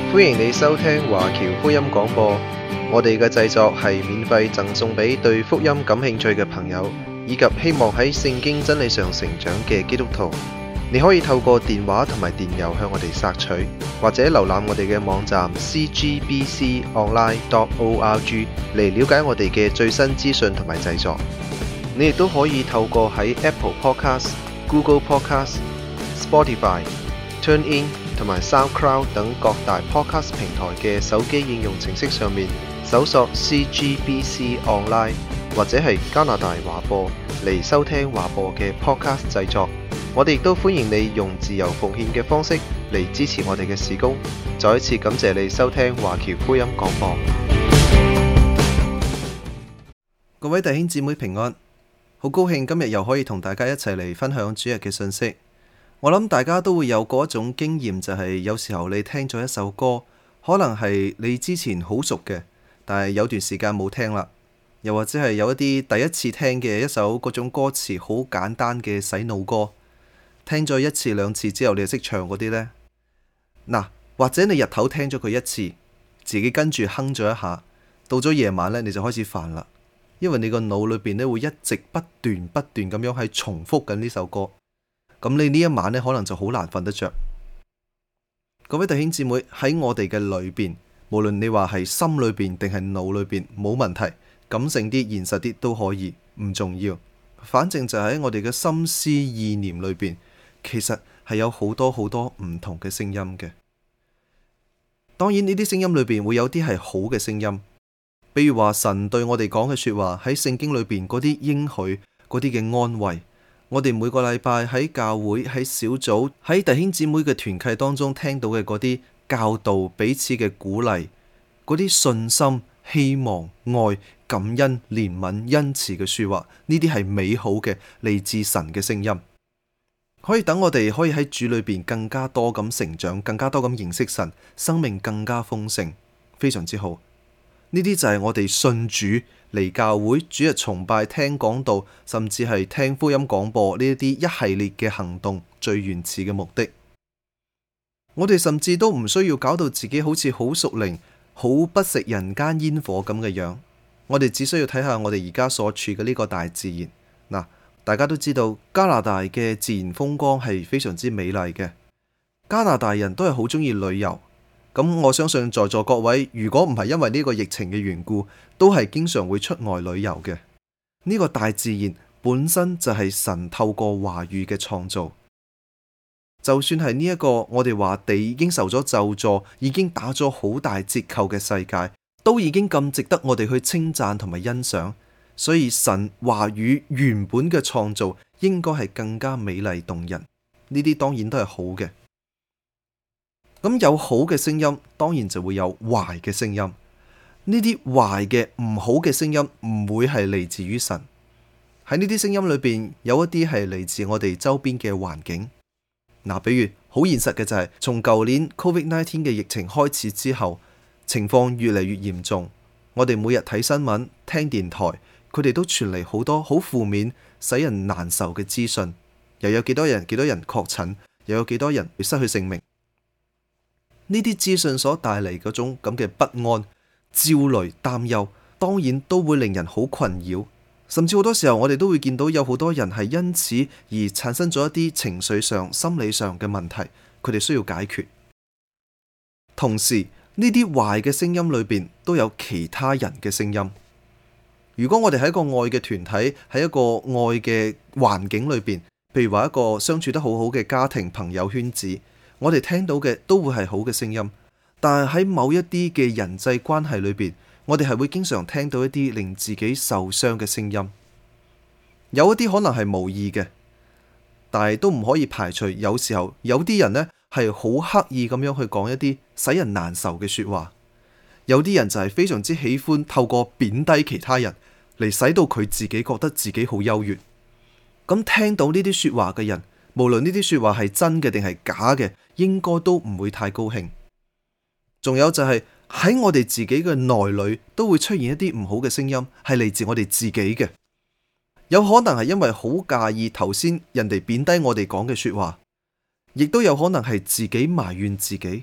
歡迎你收聽華僑福音廣播，我哋嘅製作係免費贈送俾對福音感興趣嘅朋友，以及希望喺聖經真理上成長嘅基督徒。你可以透過電話同埋電郵向我哋索取，或者瀏覽我哋嘅網站 cgbconline.org 嚟了解我哋嘅最新資訊同埋製作。你亦都可以透過喺 Apple Podcast、Google Podcast、Spotify、TuneIn 同埋 SoundCloud 等各大 Podcast 平台嘅手機應用程式上面搜索 CGBC Online 或者係加拿大華播嚟收聽華播嘅 Podcast 製作。我哋亦都歡迎你用自由奉獻嘅方式嚟支持我哋嘅事工。再一次感謝你收聽華僑福音廣播。各位弟兄姊妹平安，好高興今日又可以同大家一齊嚟分享主日嘅信息。我諗大家都會有過一種經驗，就係有時候你聽咗一首歌，可能係你之前好熟嘅，但係有段時間冇聽啦。又或者係有一啲第一次聽嘅一首嗰種歌詞好簡單嘅洗腦歌，聽咗一次兩次之後你就識唱嗰啲呢。或者你日頭聽咗佢一次，自己跟住哼咗一下，到咗夜晚呢，你就開始煩啦，因為你個腦裏邊呢會一直不斷咁樣喺重複緊呢首歌，咁你呢一晚呢可能就好難瞓得着。各位弟兄姊妹，喺我哋嘅裏邊，無論你話係心裏邊定係腦裏邊，冇問題，感性啲、現實啲都可以，唔重要。反正就喺我哋嘅心思意念裏邊，其實係有好多唔同嘅聲音嘅。當然呢啲聲音裏邊會有啲係好嘅聲音，比如話神對我哋講嘅說話，喺聖經裏邊嗰啲應許、嗰啲嘅安慰，我哋每個禮拜喺教會、喺小組、喺弟兄姊妹嘅團契當中聽到嘅嗰啲教導、彼此嘅鼓勵，嗰啲信心、希望、愛、感恩、憐憫、恩慈嘅說話，呢啲係美好嘅嚟自神嘅聲音，可以等我哋可以喺主裏邊更加多咁成長，更加多咁認識神，生命更加豐盛，非常之好。呢啲就係我哋信主嚟教會、主日崇拜、聽講道，甚至係聽福音廣播呢一啲一系列嘅行動最原始嘅目的。我哋甚至都唔需要搞到自己好似好屬靈、好不食人間煙火咁嘅樣。我哋只需要睇下我哋而家所處嘅呢個大自然。大家都知道加拿大嘅自然風光係非常之美麗嘅。加拿大人都係好中意旅遊。咁我相信在座各位，如果唔係因為呢個疫情嘅緣故，都係經常會出外旅遊嘅。呢個大自然本身就係神透過話語嘅創造。就算係呢一個我哋話地已經受咗咒詛，已經打咗好大折扣嘅世界，都已經咁值得我哋去稱讚同埋欣賞。所以神話語原本嘅創造應該係更加美麗動人。呢啲當然都係好嘅。咁有好嘅聲音，當然就會有壞嘅聲音。呢啲壞嘅唔好嘅聲音唔會係嚟自於神。喺呢啲聲音裏邊，有一啲係嚟自我哋周邊嘅環境。比如好現實嘅就係從舊年 COVID-19 嘅疫情開始之後，情況越嚟越嚴重。我哋每日睇新聞、聽電台，佢哋都傳嚟好多好負面、使人難受嘅資訊。又有幾多人確診，又有幾多人會失去性命。呢啲資訊所帶嚟嗰種咁嘅不安、焦慮、擔憂，當然都會令人好困擾。甚至好多時候我哋都會見到有好多人係因此而產生咗一啲情緒上、心理上嘅問題，佢哋需要解決。同時呢啲壞嘅聲音裏邊都有其他人嘅聲音。如果我哋喺一個愛嘅團體，喺一個愛嘅環境裏邊，譬如話一個相處得好好嘅家庭、朋友圈子，我哋聽到嘅都會係好嘅聲音。但係喺某一啲嘅人際關係裏邊，我哋係會經常聽到一啲令自己受傷嘅聲音。有一啲可能係無意嘅，但係都唔可以排除有時候有啲人呢係好刻意咁樣去講一啲使人難受嘅說話。有啲人就係非常之喜歡透過貶低其他人嚟使到佢自己覺得自己好優越。咁聽到呢啲說話嘅人，無論呢啲說話係真嘅定係假嘅，應該都唔會太高興。仲有就係喺我哋自己嘅內裏都會出現一啲唔好嘅聲音，係嚟自我哋自己嘅。有可能係因為好介意頭先人哋貶低我哋講嘅說話，亦都有可能係自己埋怨自己。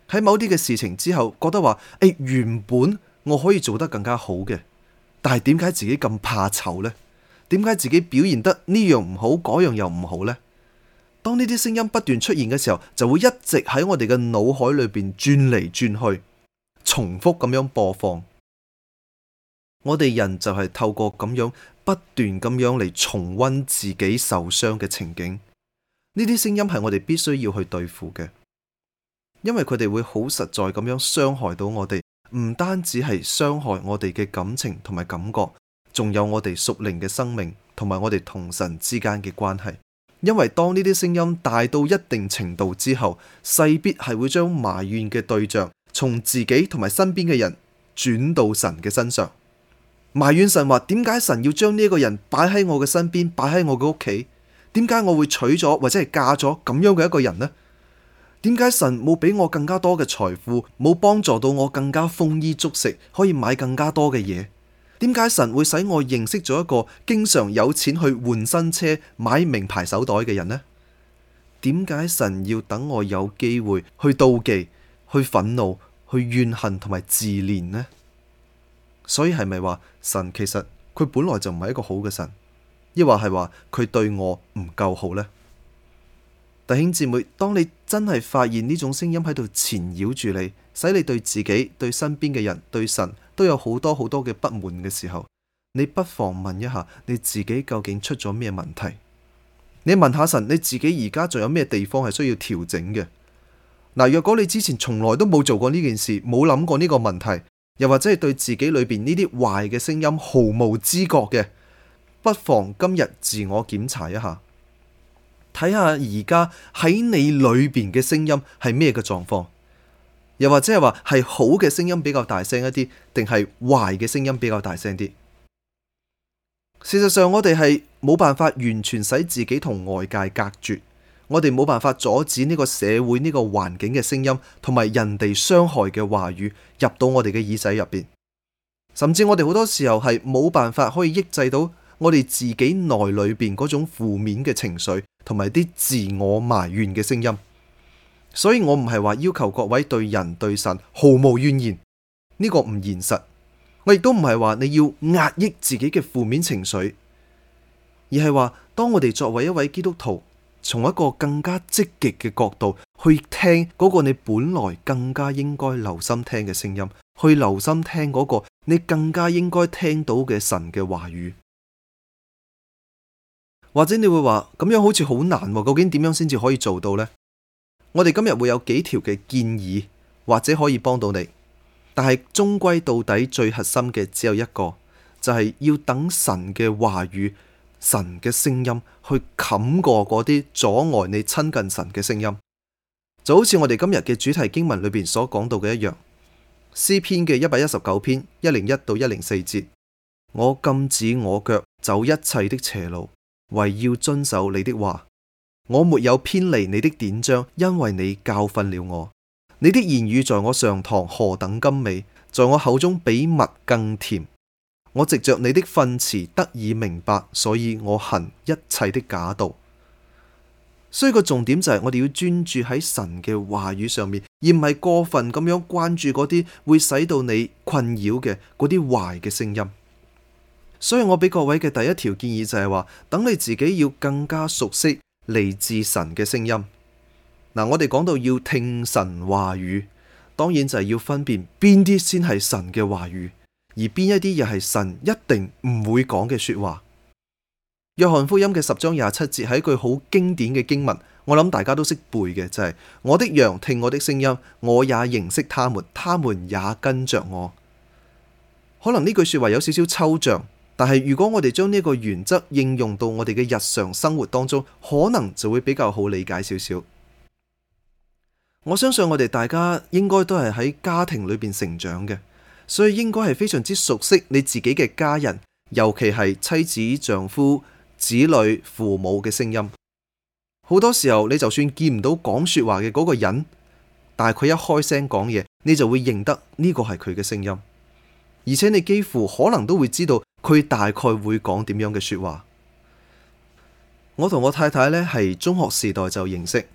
喺某啲嘅事情之後，覺得話原本我可以做得更加好嘅，但係點解自己咁怕醜呢？點解自己表現得呢樣唔好，嗰樣又唔好呢？當呢啲聲音不斷出現嘅時候，就會一直喺我哋嘅腦海裏邊轉嚟轉去，重複咁樣播放。我哋人就係透過咁樣不斷咁樣嚟重溫自己受傷嘅情景。呢啲聲音係我哋必須要去對付嘅，因為佢哋會好實在咁樣傷害到我哋，唔單止係傷害我哋嘅感情同埋感覺，仲有我哋屬靈嘅生命同埋我哋同神之間嘅關係。因為當呢啲聲音大到一定程度之後，勢必係會將埋怨嘅對象從自己同埋身邊嘅人轉到神嘅身上。埋怨神話，點解神要將呢個人擺喺我嘅身邊，擺喺我嘅屋企？點解我會娶咗或者係嫁咗咁樣嘅一個人呢？點解神冇俾我更加多嘅財富，冇幫助到我更加豐衣足食，可以買更加多嘅嘢？點解神會使我認識咗一個經常有錢去換新車、買名牌手袋嘅人呢？點解神要等我有機會去妒忌、去憤怒、去怨恨同埋自憐呢？所以係咪話神其實佢本來就唔係一個好嘅神，抑或係話佢對我唔夠好呢？弟兄姊妹，當你真係發現呢種聲音喺度纏繞住你，使你對自己、對身邊嘅人、對神都有好多好多嘅不滿嘅時候，你不妨問一下你自己究竟出咗咩問題？你問下神，你自己而家仲有咩地方係需要調整嘅？嗱，若果你之前從來都冇做過呢件事，冇諗過呢個問題，又或者係對自己裏邊呢啲壞嘅聲音毫無知覺嘅，不妨今日自我檢查一下，睇下而家喺你裏邊嘅聲音係咩嘅狀況，又或者係話係好嘅聲音比較大聲一啲，定係壞嘅聲音比較大聲啲？事實上，我哋係冇辦法完全使自己同外界隔絕，我哋冇辦法阻止呢個社會、呢個環境嘅聲音同埋人哋傷害嘅話語入到我哋嘅耳仔入邊，甚至我哋好多時候係冇辦法可以抑制到我哋自己內裏邊嗰種負面嘅情緒同埋啲自我埋怨嘅聲音。所以我唔係話要求各位對人對神毫無怨言，呢個唔現實。我亦都唔係話你要壓抑自己嘅負面情緒，而係話當我哋作為一位基督徒，從一個更加積極嘅角度去聽嗰個你本來更加應該留心聽嘅聲音，去留心聽嗰個你更加應該聽到嘅神嘅話語。或者你會話咁樣好似好難，究竟點樣先至可以做到呢？我哋今日會有幾條嘅建議，或者可以幫到你。但係終歸到底最核心嘅只有一個，就係要等神嘅話語、神嘅聲音去冚過嗰啲阻礙你親近神嘅聲音。就好似我哋今日嘅主題經文裏邊所講到嘅一樣，詩篇嘅119篇101到104節，我禁止我腳走一切的邪路，為要遵守你的話。我沒有偏離你的典章，因為你教訓了我。你的言語在我上膛何等甘美，在我口中比蜜更甜。我藉着你的訓詞得以明白，所以我恨一切的假道。所以個重點就係我哋要專注喺神嘅話語上面，而唔係過分咁樣關注嗰啲會使到你困擾嘅嗰啲壞嘅聲音。所以我俾各位嘅第一條建議就係話，等你自己要更加熟悉嚟自神嘅聲音。嗱，我哋講到要聽神話語，當然就係要分辨邊啲先係神嘅話語，而邊一啲又係神一定唔會講嘅說話。約翰福音嘅10章27節係一句好經典嘅經文，我諗大家都識背嘅，就係我的羊聽我的聲音，我也認識他們，他們也跟着我。可能呢句說話有少少抽象，但係如果我哋將呢個原則應用到我哋嘅日常生活當中，可能就會比較好理解少少。我相信我哋大家應該都係喺家庭裏邊成長嘅，所以應該係非常之熟悉你自己嘅家人，尤其係妻子、丈夫、子女、父母嘅聲音。好多時候你就算見唔到講說話嘅嗰個人，但係佢一開聲講嘢，你就會認得呢個係佢嘅聲音，而且你幾乎可能都會知道佢大概會講點樣嘅說話。我同我太太呢係中學時代就認識。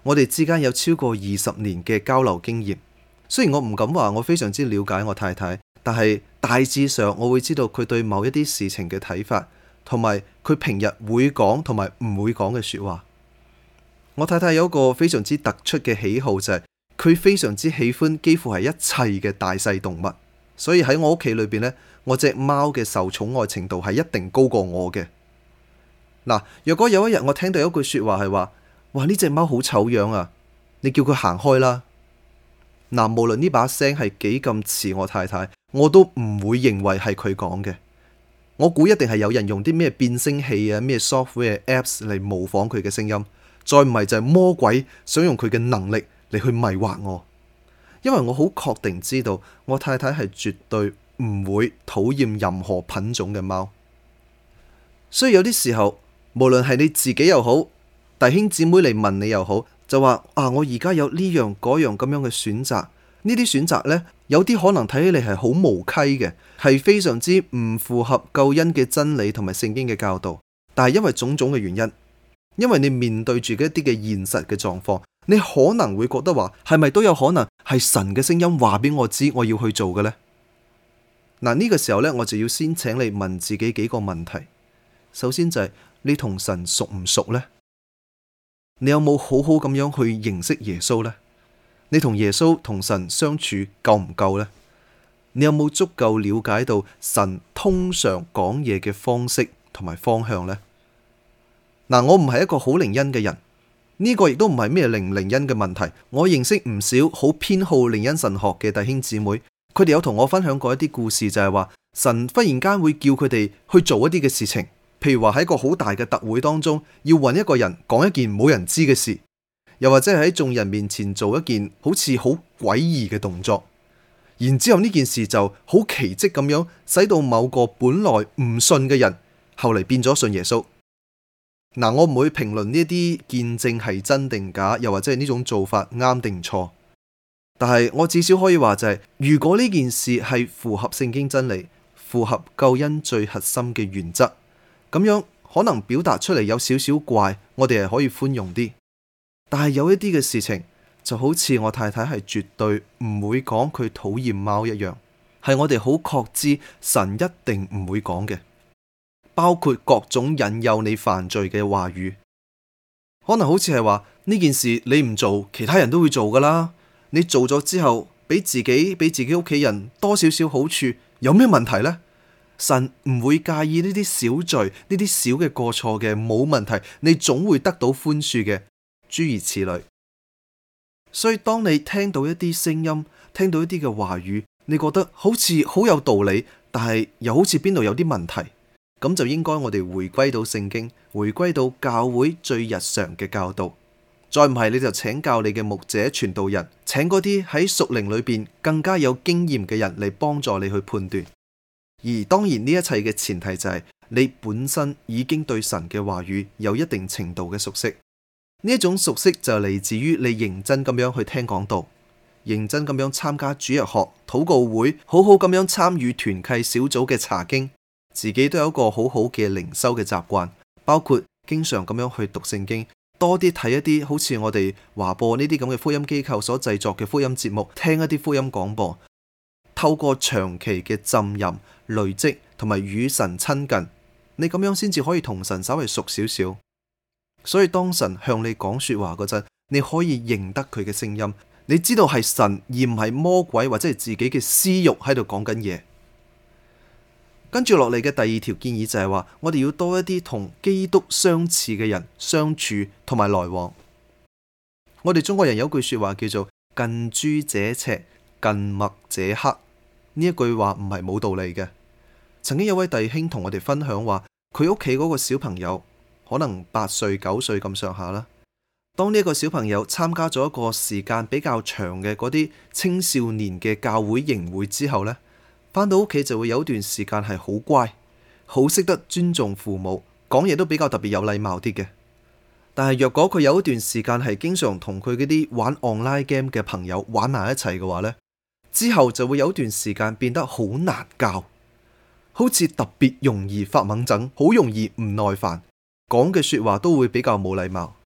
我哋之間有超過20年嘅交流經驗。雖然我唔敢話我非常之了解我太太，但係大致上我會知道佢對某一啲事情嘅睇法，同埋佢平日會講同埋唔會講嘅說話。我太太有一個非常之突出嘅喜好，就係佢非常之喜歡幾乎係一切嘅大細動物，所以喺我屋企裏邊呢，我隻貓嘅受寵愛程度係一定高過我嘅。嗱，若果有一日我聽到有一句說話係話，哇，呢隻貓好醜樣啊，你叫佢行開啦。嗱，無論呢把聲係幾咁似我太太，我都唔會認為係佢講嘅。我估一定係有人用啲咩變聲器啊、咩 software apps 嚟模仿佢嘅聲音，再唔係就係魔鬼想用佢嘅能力嚟去迷惑我。因為我好確定知道我太太係絕對唔會討厭任何品種嘅貓。所以有啲時候，無論係你自己又好，弟兄姊妹嚟問你又好，就話啊，我而家有呢樣嗰樣咁樣嘅選擇，呢啲選擇呢，有啲可能睇起嚟係好無稽嘅，係非常之唔符合救恩嘅真理同埋聖經嘅教導。但係因為種種嘅原因，因為你面對住一啲嘅現實嘅狀況，你可能會覺得話，係咪都有可能係神嘅聲音話俾我知我要去做嘅呢？嗱，呢個時候呢，我就要先請你問自己幾個問題。首先就係你同神熟唔熟呢？你有冇好好咁樣去認識耶穌呢？你同耶穌同神相處夠唔夠呢？你有冇足夠了解到神通常講嘢嘅方式同埋方向呢？嗱，我唔係一個好靈恩嘅人，呢個亦都唔係咩靈唔靈恩嘅問題。我認識唔少好偏好靈恩神學嘅弟兄姊妹，佢哋有同我分享過一啲故事，就係話神忽然間會叫佢哋去做一啲嘅事情。譬如話喺一個好大嘅特會當中，要搵一個人講一件冇人知嘅事，又或者係喺眾人面前做一件好似好詭異嘅動作，然之後呢件事就好奇蹟咁樣，使到某個本來唔信嘅人，後嚟變咗信耶穌。嗱，我唔會評論呢啲見證係真定假，又或者係呢種做法啱定錯，但係我至少可以話就係，如果呢件事係符合聖經真理，符合救恩最核心嘅原則，咁樣可能表達出嚟有少少怪，我哋係可以寬容啲。但係有一啲嘅事情，就好似我太太係絕對唔會講佢討厭貓一樣，係我哋好確知神一定唔會講嘅，包括各種引誘你犯罪嘅話語。可能好似係話呢件事你唔做，其他人都會做噶啦。你做咗之後，俾自己屋企人多少少好處，有咩問題呢？神唔會介意呢啲小罪，呢啲小嘅過錯嘅，冇問題，你總會得到寬恕嘅，諸如此類。所以當你聽到一啲聲音，聽到一啲嘅話語，你覺得好似好有道理，但係又好似邊度有啲問題，咁就應該我哋回歸到聖經，回歸到教會最日常嘅教導。再唔係你就請教你嘅牧者傳道人，請嗰啲喺屬靈裏邊更加有經驗嘅人嚟幫助你去判斷。而當然呢一切嘅前提就係你本身已經對神嘅話語有一定程度嘅熟悉，呢一種熟悉就嚟自於你認真咁樣去聽講道，認真咁樣參加主日學、禱告會，好好咁樣參與團契小組嘅查經，自己都有一個好好嘅靈修嘅習慣，包括經常咁樣去讀聖經，多啲睇一啲好似我哋華播呢啲咁嘅福音機構所製作嘅福音節目，聽一啲福音廣播，透過長期嘅浸淫、累積同埋與神親近，你咁樣先至可以同神稍微熟少少。所以當神向你講說話嗰陣，你可以認得佢嘅聲音，你知道係神而唔係魔鬼或者係自己嘅私欲喺度講緊嘢。跟住落嚟嘅第二條建議就係話，我哋要多一啲同基督相似嘅人相處同埋來往。我哋中國人有句說話叫做近朱者赤，近墨者黑。呢一句話唔係冇道理嘅。曾經有位弟兄同我哋分享話，佢屋企嗰個小朋友可能8歲9歲咁上下啦。當呢一個小朋友參加咗一個時間比較長嘅嗰啲青少年嘅教會營會之後呢，返到屋企就會有一段時間係好乖，好識得尊重父母，講嘢都比較特別有禮貌啲嘅。但係若果佢有一段時間係經常同佢嗰啲玩 online game 嘅朋友玩埋一齊嘅話呢，之後就會有一段時間變得好難教，好似特別容易發猛疹，好容易唔耐煩，講嘅說話都會比較冇禮貌。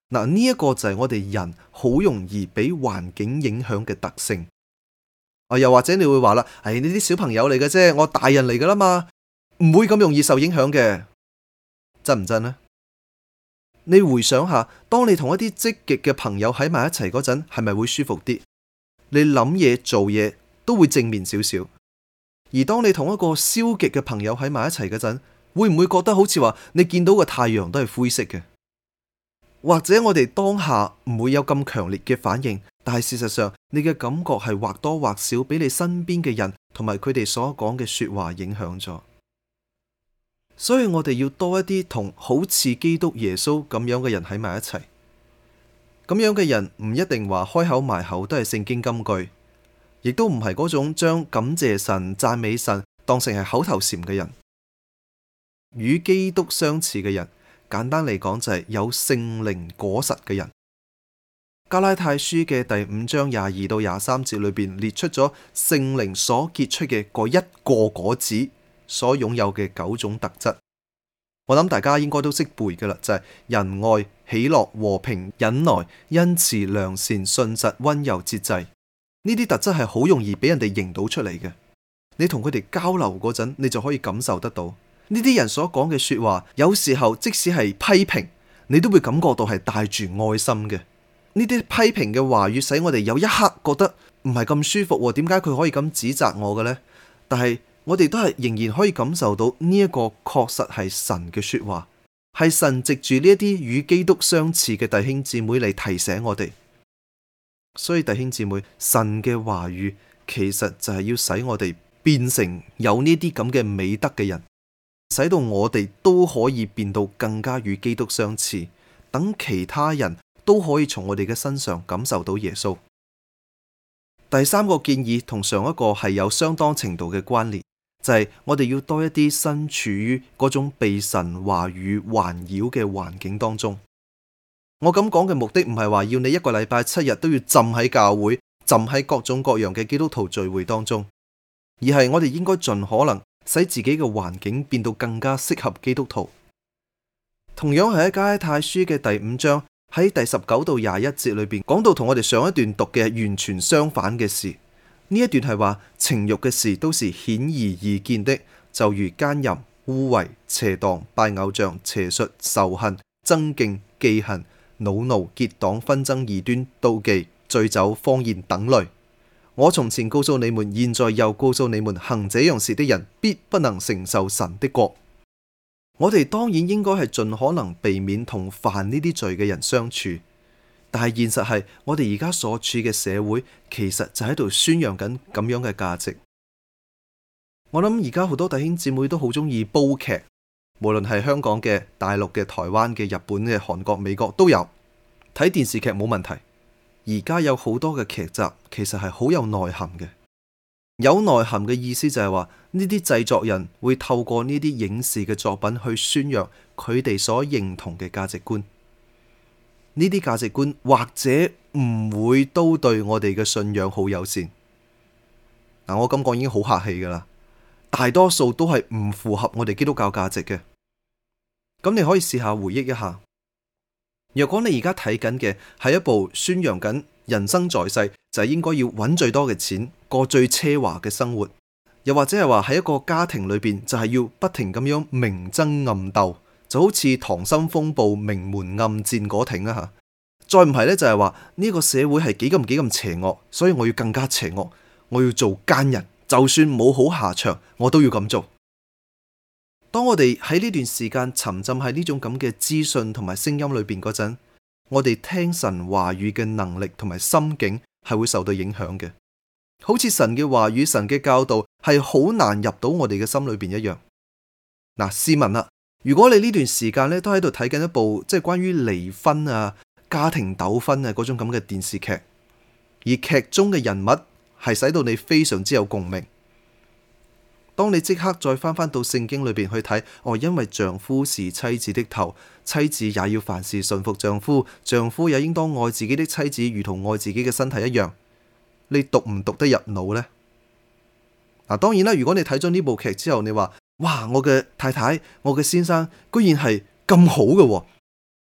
嗱，呢一個就係我哋人好容易俾環境影響嘅特性。又或者你會話啦，呢啲小朋友嚟嘅啫，我大人嚟噶啦嘛，唔會咁容易受影響嘅，真唔真呢？你回想下，當你同一啲積極嘅朋友喺埋一齊嗰陣，係咪會舒服啲？你諗嘢做嘢都會正面少少。而當你同一個消極嘅朋友喺埋一齊嗰陣，會唔會覺得好似話你見到個太陽都係灰色嘅？或者我哋當下唔會有咁強烈嘅反應，但係事實上你嘅感覺係或多或少俾你身邊嘅人同埋佢哋所講嘅說話影響咗。所以我哋要多一啲同好似基督耶穌咁樣嘅人喺埋一齊。咁樣嘅人唔一定話開口埋口都係聖經金句，亦都唔係嗰種將感謝神、讚美神當成係口頭禪嘅人。與基督相似嘅人，簡單嚟講就係有聖靈果實嘅人。加拉太書嘅第5章22到23節裏邊列出咗聖靈所結出嘅嗰一個果子所擁有嘅9種特質。我諗大家應該都識背噶啦，就係仁愛、喜樂、和平、忍耐、恩慈、良善、信實、溫柔、節制。呢啲特質係好容易俾人哋認到出嚟嘅。你同佢哋交流嗰陣，你就可以感受得到呢啲人所講嘅說話，有時候即使係批評，你都會感覺到係帶住愛心嘅。呢啲批評嘅話語使我哋有一刻覺得唔係咁舒服，點解佢可以咁指責我嘅呢？但係我哋都係仍然可以感受到呢一個確實係神嘅說話，係神藉住呢一啲與基督相似嘅弟兄姊妹嚟提醒我哋。所以弟兄姊妹，神嘅話語其實就係要使我哋變成有呢啲咁嘅美德嘅人，使到我哋都可以變到更加與基督相似，等其他人都可以從我哋嘅身上感受到耶穌。第三個建議同上一個係有相當程度嘅關聯，就係我哋要多一啲身處於嗰種被神話語環繞嘅環境當中。我咁講嘅目的唔係話要你一個禮拜7日都要浸喺教會，浸喺各種各樣嘅基督徒聚會當中，而係我哋應該盡可能使自己嘅環境變到更加適合基督徒。同樣係喺加拉太書嘅第5章。喺第19到21節裏邊講到同我哋上一段讀嘅完全相反嘅事。呢一段係話情欲嘅事都是顯而易見的，就如奸淫、污穢、邪蕩、拜偶像、邪術、仇恨、爭競、忌恨、惱怒、結黨、紛爭、異端、妒忌、醉酒、荒宴等類。我從前告訴你們，現在又告訴你們，行這樣事的人必不能承受神的國。我哋當然應該係盡可能避免同犯呢啲罪嘅人相處，但係現實係我哋而家所處嘅社會其實就喺度宣揚緊咁樣嘅價值。我諗而家好多弟兄姊妹都好中意煲劇，無論係香港嘅、大陸嘅、台灣嘅、日本嘅、韓國、美國都有。睇電視劇冇問題，而家有好多嘅劇集其實係好有內涵嘅。有內涵嘅意思就係話呢啲製作人會透過呢啲影視嘅作品去宣揚佢哋所認同嘅價值觀。呢啲價值觀或者唔會都對我哋嘅信仰好友善。我咁講已經好客氣噶啦，大多數都係唔符合我哋基督教價值嘅。咁你可以試下回憶一下，若果你而家睇緊嘅係一部宣揚緊人生在世就係應該要揾最多嘅錢，過最奢華嘅生活，又或者係話喺一個家庭裏邊就係要不停咁樣明爭暗鬥，就好似溏心風暴、明門暗戰嗰挺啊吓。再唔係呢，就係話呢個社會係幾咁邪惡，所以我要更加邪惡，我要做奸人，就算冇好下場，我都要咁做。當我哋喺呢段時間沉浸喺呢種咁嘅資訊同埋聲音裏邊嗰陣，我哋聽神話語嘅能力同埋心境係會受到影響嘅，好似神嘅話語、神嘅教導係好難入到我哋嘅心裏邊一樣。試問啦，如果你呢段時間咧都喺度睇緊一部即係關於離婚啊、家庭糾紛啊嗰種咁嘅電視劇，而劇中嘅人物係使到你非常之有共鳴。當你即刻再翻到聖經裏邊去睇，因為丈夫是妻子的頭，妻子也要凡事順服丈夫，丈夫也應當愛自己的妻子，如同愛自己嘅身體一樣。你讀唔讀得入腦呢？當然啦，如果你睇咗呢部劇之後，你話哇，我嘅太太、我嘅先生居然係咁好嘅，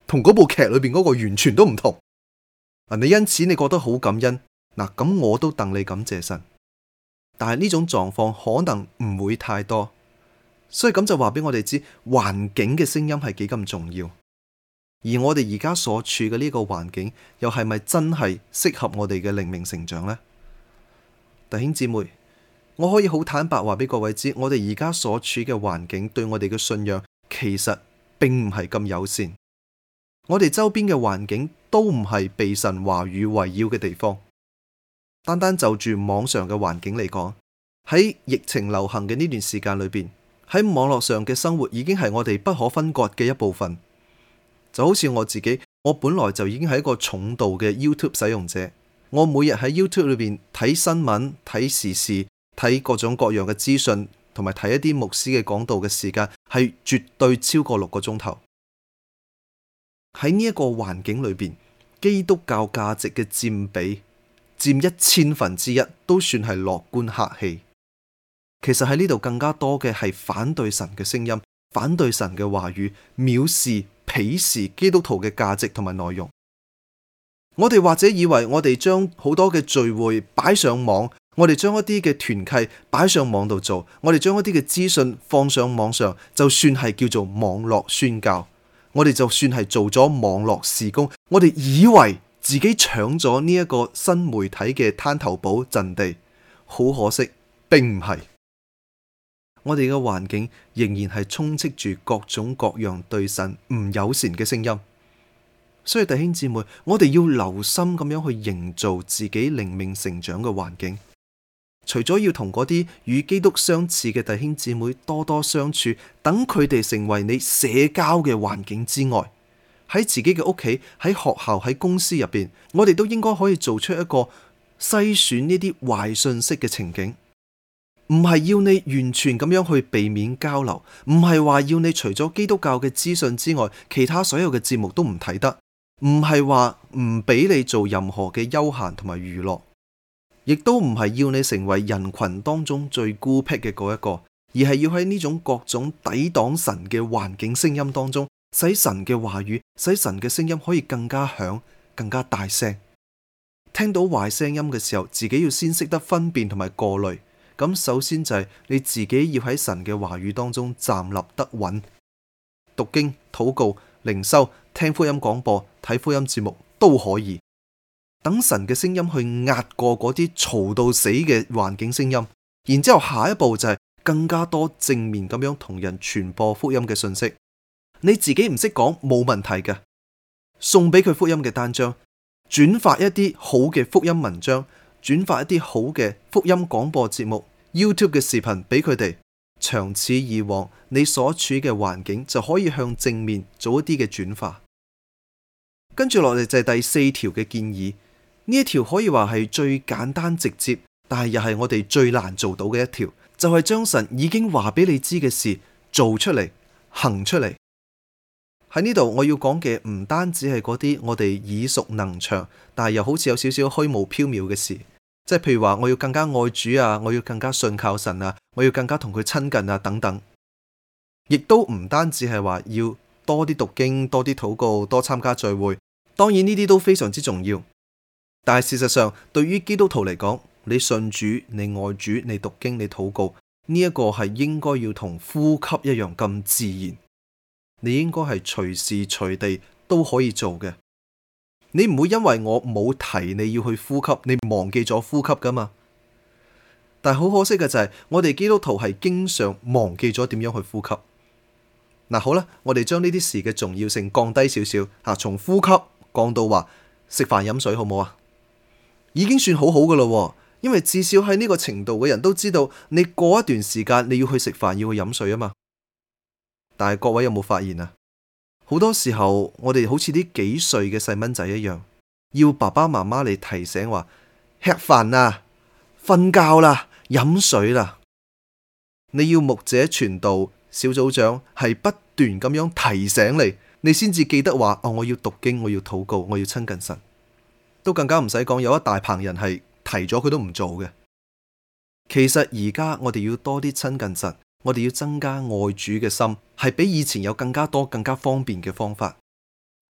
同嗰部劇裏邊嗰個完全都唔同。你因此你覺得好感恩，嗱，咁我都戥你感謝神。但係呢種狀況可能唔會太多，所以咁就話俾我哋知，環境嘅聲音係幾咁重要。而我哋而家所處嘅呢個環境，又係咪真係適合我哋嘅靈命成長呢？弟兄姊妹，我可以好坦白話俾各位知，我哋而家所處嘅環境對我哋嘅信仰其實並唔係咁友善。我哋周邊嘅環境都唔係被神話語圍繞嘅地方。單單就住網上嘅環境嚟講，喺疫情流行嘅呢段時間裏邊，喺網絡上嘅生活已經係我哋不可分割嘅一部分。就好似我自己，我本來就已經係一個重度嘅 YouTube 使用者。我每日喺 YouTube 裏邊睇新聞、睇時事、睇各種各樣嘅資訊，同埋睇一啲牧師嘅講道嘅時間係絕對超過6個鐘頭。喺呢一個環境裏邊，基督教價值嘅佔比佔1/1000都算係樂觀客氣。其實喺呢度更加多嘅係反對神嘅聲音，反對神嘅話語，藐視、鄙視基督徒嘅價值同埋內容。我哋或者以為我哋將好多嘅聚會擺上網，我哋將一啲嘅團契擺上網度做，我哋將一啲嘅資訊放上網上，就算係叫做網絡宣教，我哋就算係做咗網絡事工，我哋以為自己搶咗呢一個新媒體嘅灘頭堡陣地，好可惜，並唔係。我哋嘅環境仍然係充斥住各種各樣對神唔友善嘅聲音。所以弟兄姊妹，我哋要留心咁樣去營造自己靈命成長嘅環境。除咗要同嗰啲與基督相似嘅弟兄姊妹多多相處，等佢哋成為你社交嘅環境之外，喺自己嘅屋企、喺學校、喺公司入邊，我哋都應該可以做出一個篩選呢啲壞信息嘅情景。唔係要你完全咁樣去避免交流，唔係話要你除咗基督教嘅資訊之外，其他所有嘅節目都唔睇得，唔係話唔俾你做任何嘅休閒同埋娛樂，亦都唔係要你成為人群當中最孤僻嘅嗰一個，而係要喺呢種各種抵擋神嘅環境聲音當中，使神嘅話語、使神嘅聲音可以更加響、更加大聲。聽到壞聲音嘅時候，自己要先識得分辨同埋過濾。咁首先就係你自己要喺神嘅話語當中站立得穩，讀經、禱告、靈修、聽福音廣播、睇福音節目都可以。等神嘅聲音去壓過嗰啲嘈到死嘅環境聲音，然之後下一步就係更加多正面咁樣同人傳播福音嘅信息。你自己唔識講冇問題嘅，送俾佢福音嘅單張，轉發一啲好嘅福音文章，轉發一啲好嘅福音廣播節目、YouTube 嘅視頻俾佢哋，長此以往，你所處嘅環境就可以向正面做一啲嘅轉化。跟住落嚟就係第4條嘅建議，呢一條可以話係最簡單直接，但係又係我哋最難做到嘅一條，就係將神已經話俾你知嘅事做出嚟、行出嚟。喺呢度我要講嘅唔單止係嗰啲我哋耳熟能詳，但係又好似有少少虛無縹緲嘅事，即係譬如話我要更加愛主啊，我要更加信靠神啊，我要更加同佢親近啊等等。亦都唔單止係話要多啲讀經、多啲禱告、多參加聚會，當然呢啲都非常之重要。但係事實上，對於基督徒嚟講，你信主、你愛主、你讀經、你禱告，呢一個係應該要同呼吸一樣咁自然。你應該係隨時隨地都可以做嘅。你唔會因為我冇提你要去呼吸，你忘記咗呼吸噶嘛？但係好可惜嘅就係，我哋基督徒係經常忘記咗點樣去呼吸。嗱，好啦，我哋將呢啲事嘅重要性降低少少，從呼吸降到話食飯飲水，好唔好啊？已經算好好噶啦，因為至少喺呢個程度嘅人都知道，你過一段時間你要去食飯，要去飲水啊嘛。但係各位有冇發現啊？好多時候我哋好似啲幾歲嘅細蚊仔一樣，要爸爸媽媽嚟提醒話吃飯啦、瞓覺啦、飲水啦。你要牧者傳道、小組長係不斷咁樣提醒你，你先至記得話我要讀經，我要禱告，我要親近神。都更加唔使講，有一大棚人係提咗佢都唔做嘅。其實而家我哋要多啲親近神。我哋要增加愛主嘅心，係比以前有更加多、更加方便嘅方法。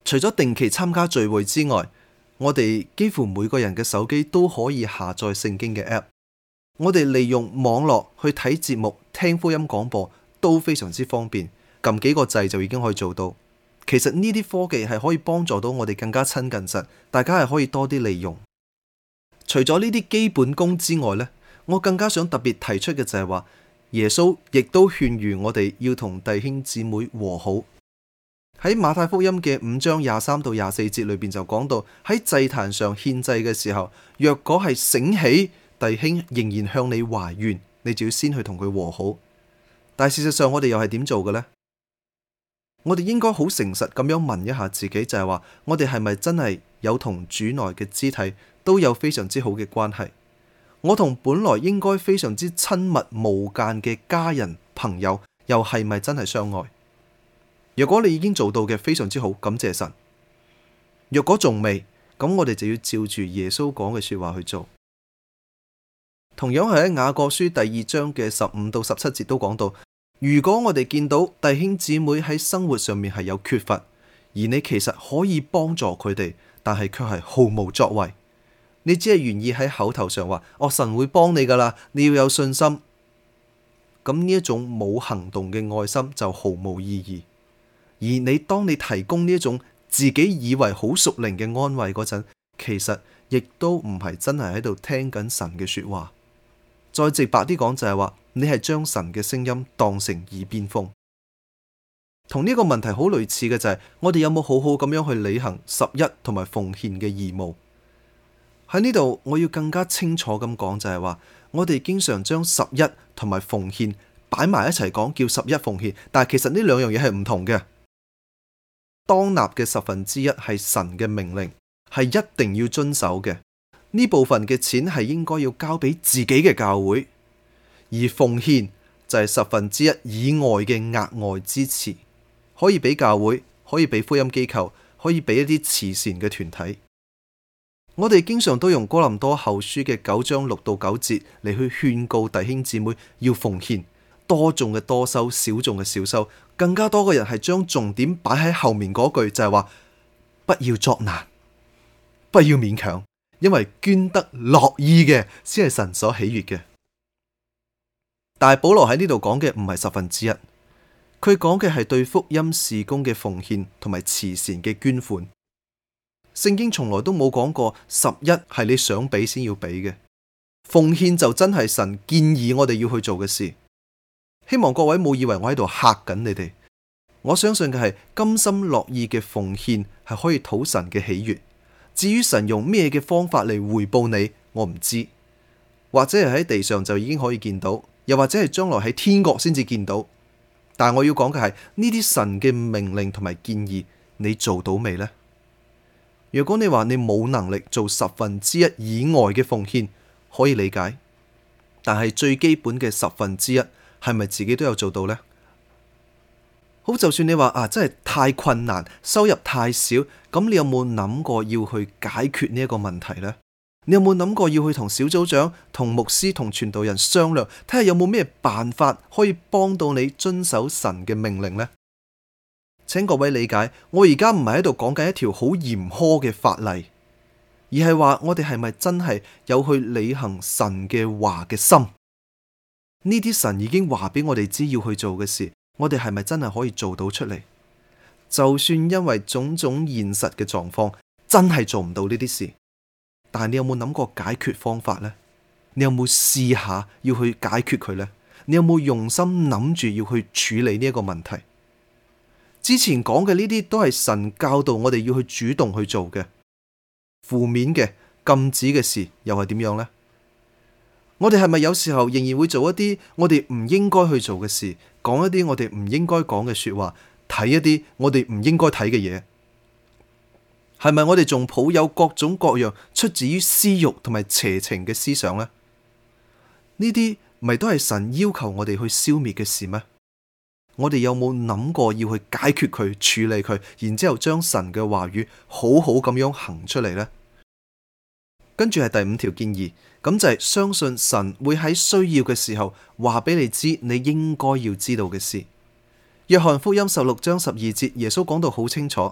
除咗定期參加聚會之外，我哋幾乎每個人嘅手機都可以下載聖經嘅 App。我哋利用網絡去睇節目、聽福音廣播都非常之方便，撳幾個掣就已經可以做到。其實呢啲科技係可以幫助到我哋更加親近神，大家係可以多啲利用。除咗呢啲基本功之外呢，我更加想特別提出嘅就係話，耶穌亦都勸喻我哋要同弟兄姊妹和好。喺馬太福音嘅5章23到24節裏邊就講到，喺祭壇上獻祭嘅時候，若果係醒起弟兄仍然向你懷怨，你就要先去同佢和好。但係事實上我哋又係點做嘅呢？我哋應該好誠實咁樣問一下自己，就係話我哋係咪真係有同主內嘅肢體都有非常之好嘅關係？我同本來應該非常之親密無間嘅家人朋友，又係咪真係相愛？如果你已經做到嘅非常之好，感謝神。若果仲未，咁我哋就要照住耶穌講嘅說話去做。同樣係喺雅各書第2章嘅15到17節都講到，如果我哋見到弟兄姊妹喺生活上面係有缺乏，而你其實可以幫助佢哋，但係卻係毫無作為，你只係願意喺口頭上話，神會幫你噶啦，你要有信心。咁呢一種冇行動嘅愛心就毫無意義。而當你提供呢一種自己以為好屬靈嘅安慰嗰陣，其實亦都唔係真係喺度聽緊神嘅說話。再直白啲講就係話，你係將神嘅聲音當成耳邊風。同呢個問題好類似嘅就係，我哋有冇好好咁樣去履行11同埋奉獻嘅義務？喺呢度我要更加清楚咁講就係話，我哋經常將11同埋奉獻擺埋一齊講，叫11奉獻，但係其實呢兩樣嘢係唔同嘅。當納嘅1/10係神嘅命令，係一定要遵守嘅。呢部分嘅錢係應該要交俾自己嘅教會，而奉獻就係1/10以外嘅額外支持，可以俾教會，可以俾福音機構，可以俾一啲慈善嘅團體。我哋經常都用哥林多後書嘅9章6到9節嚟去勸告弟兄姊妹要奉獻。多種嘅多收，少種嘅少收，更加多嘅人係將重點擺喺後面嗰句，就係話不要作難，不要勉強，因為捐得樂意嘅先係神所喜悅嘅。但係保羅喺呢度講嘅唔係1/10，佢講嘅係對福音事工嘅奉獻同埋慈善嘅捐款。聖經從來都冇講過11係你想俾先要俾嘅，奉獻就真係神建議我哋要去做嘅事。希望各位冇以為我喺度嚇緊你哋，我相信嘅係甘心樂意嘅奉獻係可以討神嘅喜悅。至於神用咩嘅方法嚟回報你，我唔知，或者係喺地上就已經可以見到，又或者係將來喺天國先至見到。但係我要講嘅係呢啲神嘅命令同埋建議，你做到未呢？如果你話你冇能力做1/10以外嘅奉獻，可以理解，但係最基本嘅1/10係咪自己都有做到呢？好，就算你話真係太困難，收入太少，咁你有冇諗過要去解決呢一個問題呢？你有冇諗過要去同小組長、同牧師、同傳道人商量，睇下有冇咩辦法可以幫到你遵守神嘅命令呢？請各位理解，我而家唔係喺度講緊一條好嚴苛嘅法例，而係話我哋係咪真係有去履行神嘅話嘅心？呢啲神已經話俾我哋知要去做嘅事，我哋係咪真係可以做到出嚟？就算因為種種現實嘅狀況，真係做唔到呢啲事，但係你有冇諗過解決方法呢？你有冇試下要去解決佢呢？你有冇用心諗住要去處理呢一個問題？之前講嘅呢啲都係神教導我哋要去主動去做嘅，負面嘅禁止嘅事又係點樣呢？我哋係咪有時候仍然會做一啲我哋唔應該去做嘅事，講一啲我哋唔應該講嘅說話，睇一啲我哋唔應該睇嘅嘢？係咪我哋仲抱有各種各樣出自於私欲同埋邪情嘅思想呢？呢啲咪都係神要求我哋去消滅嘅事咩？我哋有冇諗過要去解決佢、處理佢，然之後將神嘅話語好好咁樣行出嚟呢？跟住係第5條建議，咁就係相信神會喺需要嘅時候話俾你知你應該要知道嘅事。約翰福音16章12節，耶穌講到好清楚，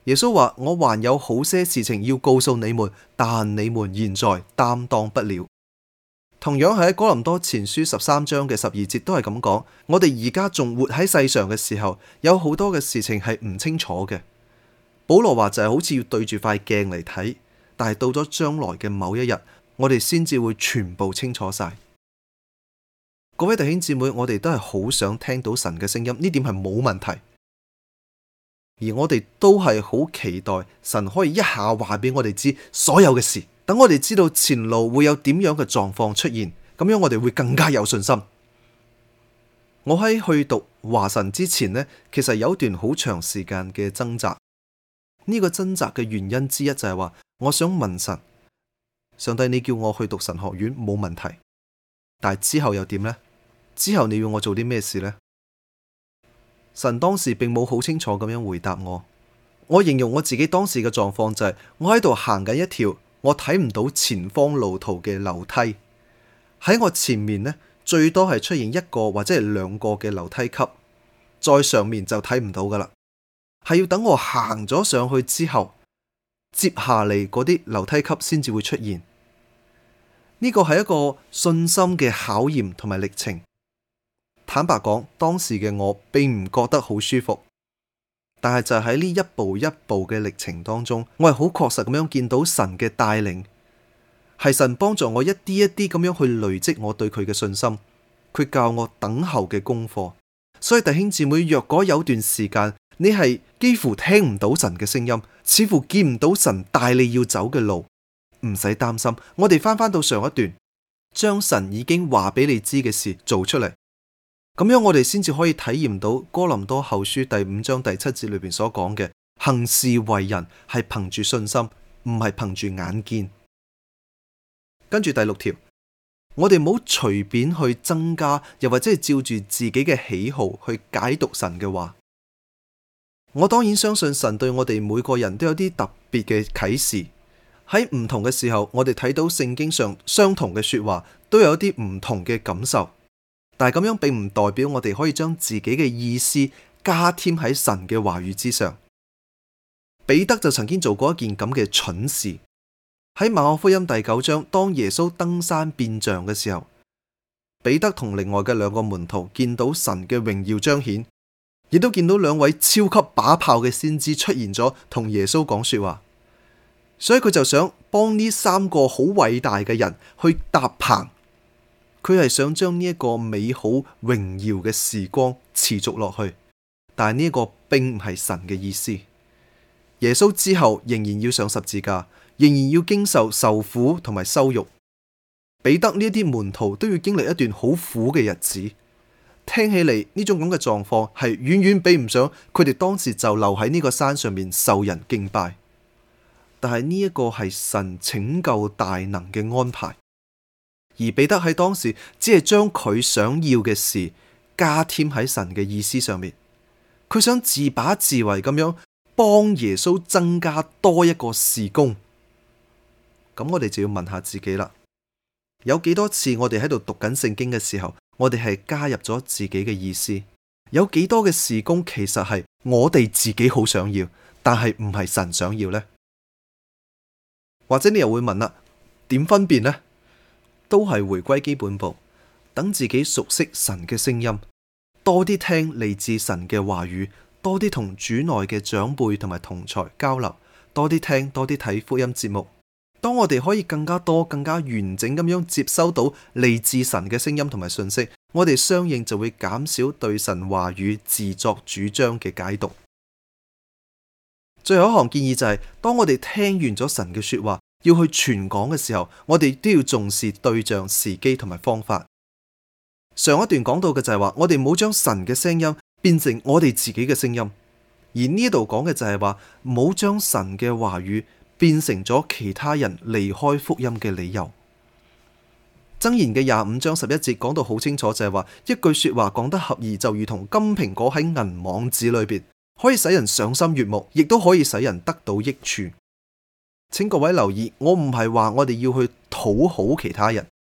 耶穌話：我還有好些事情要告訴你們，但你們現在擔當不了。同樣係喺哥林多前書13章嘅12節都係咁講。我哋而家仲活喺世上嘅時候，有好多嘅事情係唔清楚嘅。保羅話就係好似要對住塊鏡嚟睇，但係到咗將來嘅某一日，我哋先至會全部清楚晒。各位弟兄姊妹，我哋都係好想聽到神嘅聲音，呢點係冇問題。而我哋都係好期待神可以一下話俾我哋知所有嘅事，等我哋知道前路會有點樣嘅狀況出現，咁樣我哋會更加有信心。我喺去讀華神之前呢，其實有段好長時間嘅掙扎。呢個掙扎嘅原因之一就係話，我想問神，上帝，你叫我去讀神學院冇問題，但係之後又點呢？之後你要我做啲咩事呢？神當時並冇好清楚咁樣回答我。我形容我自己當時嘅狀況就係，我喺度行緊一條我睇唔到前方路途嘅樓梯，喺我前面呢，最多係出現一個或者係兩個嘅樓梯級，再上面就睇唔到噶啦，係要等我行咗上去之後，接下嚟嗰啲樓梯級先至會出現。呢個係一個信心嘅考驗同埋歷程。坦白講，當時嘅我並唔覺得好舒服，但係就喺呢一步一步嘅歷程當中，我係好確實咁樣見到神嘅帶領，係神幫助我一啲一啲咁樣去累積我對佢嘅信心，佢教我等候嘅功課。所以弟兄姊妹，若果有段時間你係幾乎聽唔到神嘅聲音，似乎見唔到神帶你要走嘅路，唔使擔心，我哋翻到上一段，將神已經話俾你知嘅事做出嚟。咁樣我哋先至可以體驗到哥林多後書第5章第7節裏邊所講嘅，行事為人係憑住信心，唔係憑住眼見。跟住第6條，我哋唔好隨便去增加，又或者係照住自己嘅喜好去解讀神嘅話。我當然相信神對我哋每個人都有啲特別嘅啟示，喺唔同嘅時候，我哋睇到聖經上相同嘅說話，都有啲唔同嘅感受。但係咁樣並唔代表我哋可以將自己嘅意思加添喺神嘅話語之上。彼得就曾經做過一件咁嘅蠢事。喺馬可福音第9章，當耶穌登山變像嘅時候，彼得同另外嘅2個門徒見到神嘅榮耀彰顯，亦都見到2位超級把炮嘅先知出現咗，同耶穌講說話。所以佢就想幫呢3個好偉大嘅人去搭棚。佢係想將呢一個美好榮耀嘅時光持續落去，但係呢個並唔係神嘅意思。耶穌之後仍然要上十字架，仍然要經受受苦同埋羞辱。彼得呢啲門徒都要經歷一段好苦嘅日子。聽起嚟呢種咁嘅狀況係遠遠比唔上佢哋當時就留喺呢個山上面受人敬拜。但係呢一個係神拯救大能嘅安排。而彼得喺當時只係將佢想要嘅事加添喺神嘅意思上面，佢想自把自為咁樣幫耶穌增加多一個事工。咁我哋就要問下自己啦，有幾多次我哋喺度讀緊聖經嘅時候，我哋係加入咗自己嘅意思？有幾多嘅事工其實係我哋自己好想要，但係唔係神想要呢？或者你又會問啦，點分辨呢？都係回歸基本步，等自己熟悉神嘅聲音，多啲聽嚟自神嘅話語，多啲同主內嘅長輩同埋同儕交流，多啲聽，多啲睇福音節目。當我哋可以更加多、更加完整咁樣接收到嚟自神嘅聲音同埋信息，我哋相應就會減少對神話語自作主張嘅解讀。最後一項建議就係，當我哋聽完咗神嘅說話，要去傳講嘅時候，我哋都要重視對象、時機同埋方法。上一段講到嘅就係話，我哋唔好將神嘅聲音變成我哋自己嘅聲音，而呢度講嘅就係話，唔好將神嘅話語變成咗其他人離開福音嘅理由。箴言嘅25章11節講到好清楚，就係話，一句說話講得合宜，就如同金蘋果喺銀網子裏邊，可以使人賞心悅目，亦都可以使人得到益處。請各位留意，我唔係話我哋要去討好其他人，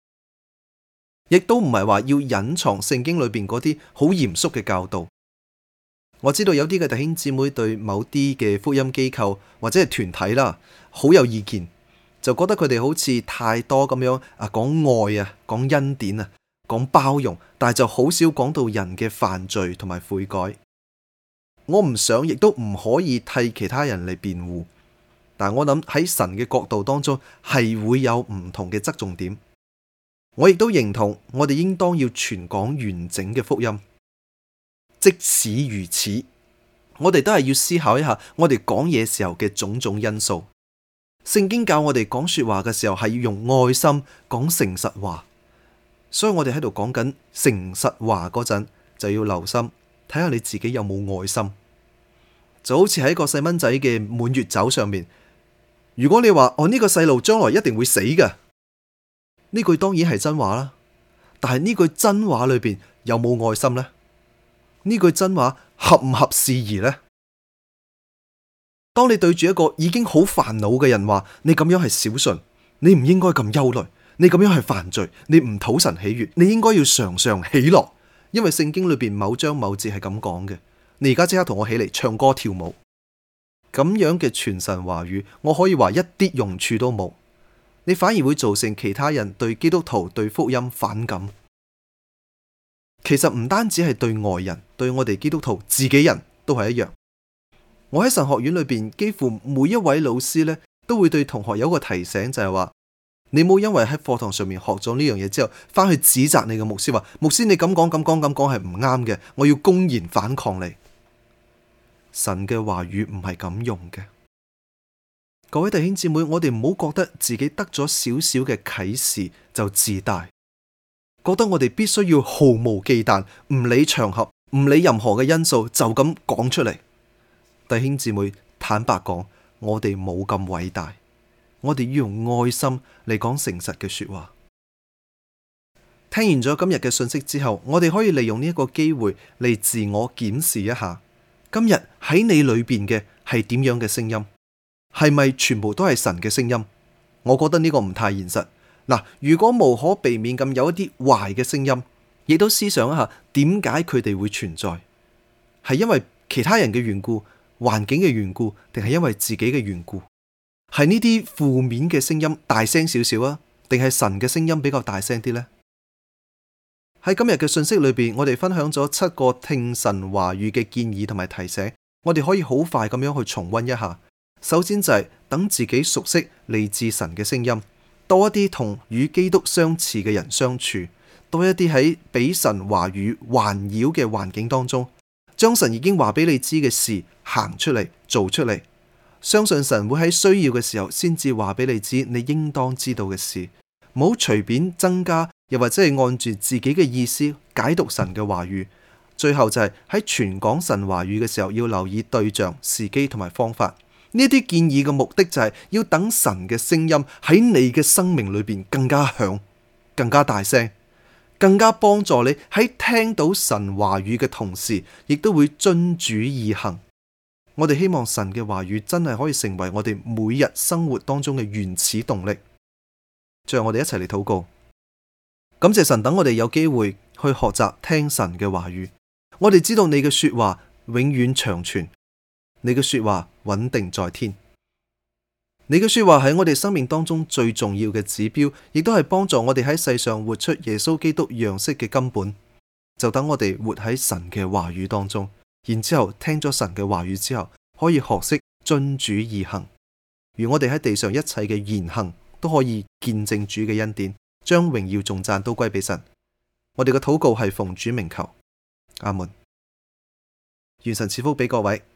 亦都唔係話要隱藏聖經裏邊嗰啲好嚴肅嘅教導。 我知道有啲嘅弟兄姊妹對某啲嘅福音機構或者係團體啦，好有意見，就覺得佢哋好似太多咁樣講愛啊，講恩典啊，講包容，但係就好少講到人嘅犯罪同埋悔改。我唔想亦都唔可以替其他人嚟辯護，但係我諗喺神嘅角度當中係會有唔同嘅側重點。我亦都認同我哋應當要傳講完整嘅福音。即使如此，我哋都係要思考一下我哋講嘢時候嘅種種因素。聖經教我哋講說話嘅時候係要用愛心講誠實話，所以我哋喺度講緊誠實話嗰陣就要留心睇下你自己有冇愛心。就好似喺個細蚊仔嘅滿月酒上面，如果你話呢個細路將來一定會死㗎，呢句當然係真話啦，但係呢句真話裏邊有冇愛心呢？呢句真話合唔合時宜呢？當你對住一個已經好煩惱嘅人話，你咁樣係小信，你唔應該咁憂慮，你咁樣係犯罪，你唔討神喜悅，你應該要常常喜樂，因為聖經裏邊某章某節係咁講嘅。你而家即刻同我起嚟唱歌跳舞，咁樣嘅傳神話語，我可以話一啲用處都冇，你反而會造成其他人對基督徒對福音反感。其實唔單止係對外人，對我哋基督徒自己人都係一樣。我喺神學院裏邊，幾乎每一位老師呢都會對同學有個提醒，就係話你冇因為喺課堂上面學咗呢樣嘢之後，翻去指責你嘅牧師話，牧師你咁講係唔啱嘅，我要公然反抗你。神嘅話語唔係咁用嘅。各位弟兄姊妹，我哋唔好覺得自己得咗少少嘅啟示就自大。覺得我哋必須要毫無忌憚，唔理場合，唔理任何嘅因素，就咁講出嚟。弟兄姊妹，坦白講，我哋冇咁偉大，我哋要用愛心嚟講誠實嘅說話。聽完咗今日嘅信息之後，我哋可以利用呢一個機會嚟自我檢視一下，今日喺你裏邊嘅係點樣嘅聲音？係咪全部都係神嘅聲音？我覺得呢個唔太現實。嗱，如果無可避免咁有一啲壞嘅聲音，亦都思想一下點解佢哋會存在？係因為其他人嘅緣故、環境嘅緣故，定係因為自己嘅緣故？係呢啲負面嘅聲音大聲少少啊，定係神嘅聲音比較大聲啲呢？喺今日嘅信息裏邊，我哋分享咗7個聽神話語嘅建議同埋提醒，我哋可以好快咁樣去重溫一下。首先就係等自己熟悉嚟自神嘅聲音。多一啲同與基督相似嘅人相處，多一啲喺俾神話語環繞嘅環境當中，將神已經話俾你知嘅事行出嚟，做出嚟，相信神會喺需要嘅時候先至話俾你知你應當知道嘅事，唔好隨便增加，又或者係按住自己嘅意思解讀神嘅話語。最後就係喺傳講神話語嘅時候，要留意對象、時機同埋方法。呢啲建議嘅目的就係要等神嘅聲音喺你嘅生命裏邊更加響、更加大聲，更加幫助你喺聽到神話語嘅同時，亦都會遵主而行。我哋希望神嘅話語真係可以成為我哋每日生活當中嘅原始動力。最後我哋一齊嚟禱告，感謝神，等我哋有機會去學習聽神嘅話語。我哋知道你嘅說話永遠長存。你嘅說話穩定在天，你嘅說話係我哋生命當中最重要嘅指標，亦都係幫助我哋喺世上活出耶穌基督樣式嘅根本。就等我哋活喺神嘅話語當中，然之後聽咗神嘅話語之後，可以學識遵主而行。如我哋喺地上一切嘅言行都可以見證主嘅恩典，將榮耀頌讚都歸俾神。我哋嘅禱告係奉主名求，阿門。願神賜福俾各位。